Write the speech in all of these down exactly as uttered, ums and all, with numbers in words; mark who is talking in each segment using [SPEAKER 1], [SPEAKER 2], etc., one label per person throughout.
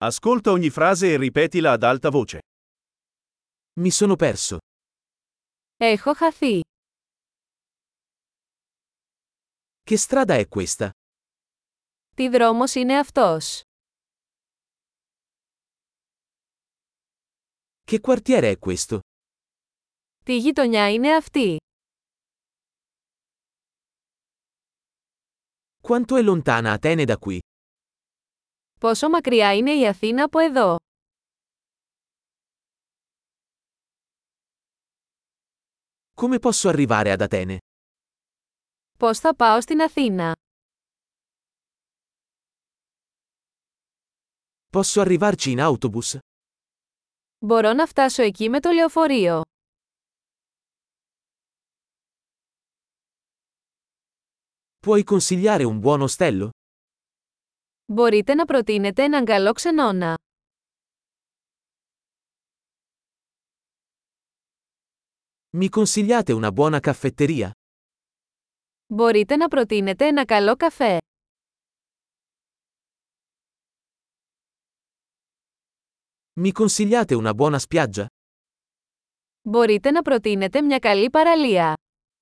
[SPEAKER 1] Ascolta ogni frase e ripetila ad alta voce.
[SPEAKER 2] Mi sono perso.
[SPEAKER 3] Έχω χαθεί.
[SPEAKER 2] Che strada è questa?
[SPEAKER 3] Τι δρόμος είναι αυτός?
[SPEAKER 2] Che quartiere è questo?
[SPEAKER 3] Τι γειτονιά είναι αυτή?
[SPEAKER 2] Quanto è lontana Atene da qui?
[SPEAKER 3] Πόσο μακριά είναι η Αθήνα από εδώ?
[SPEAKER 2] Come posso arrivare ad Atene?
[SPEAKER 3] Πώς θα πάω στην Αθήνα?
[SPEAKER 2] Posso arrivarci in autobus?
[SPEAKER 3] Μπορώ να φτάσω εκεί με το λεωφορείο.
[SPEAKER 2] Puoi consigliare un buon ostello?
[SPEAKER 3] Μπορείτε να προτείνετε έναν καλό ξενώνα.
[SPEAKER 2] Mi consigliate una buona caffetteria?
[SPEAKER 3] Μπορείτε να προτείνετε ένα καλό καφέ.
[SPEAKER 2] Mi consigliate una buona spiaggia?
[SPEAKER 3] Μπορείτε να προτείνετε μια καλή παραλία.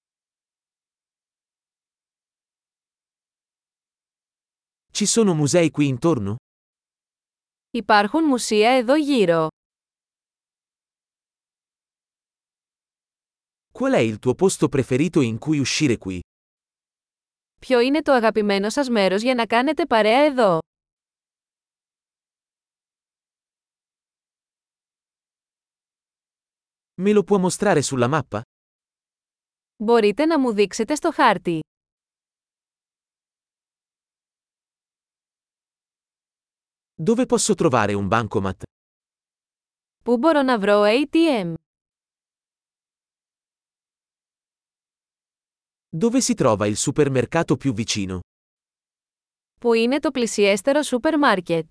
[SPEAKER 2] Ci sono musei qui intorno?
[SPEAKER 3] Υπάρχουν μουσεία εδώ γύρω.
[SPEAKER 2] Qual è il tuo posto preferito in cui uscire qui?
[SPEAKER 3] Ποιο είναι το αγαπημένο σας μέρος για να κάνετε παρέα εδώ?
[SPEAKER 2] Me lo può mostrare sulla mappa?
[SPEAKER 3] Μπορείτε να μου δείξετε στο χάρτη.
[SPEAKER 2] Dove posso trovare un bancomat?
[SPEAKER 3] Πού μπορώ να βρω έι τι εμ?
[SPEAKER 2] Dove si trova il supermercato più vicino?
[SPEAKER 3] Πού είναι το πλησιέστερο σούπερ μάρκετ?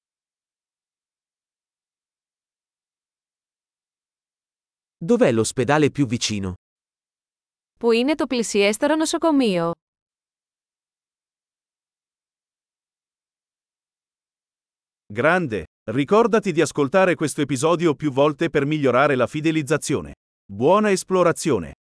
[SPEAKER 2] Dov'è l'ospedale più vicino?
[SPEAKER 3] Πού είναι το πλησιέστερο νοσοκομείο?
[SPEAKER 1] Grande! Ricordati di ascoltare questo episodio più volte per migliorare la fidelizzazione. Buona esplorazione!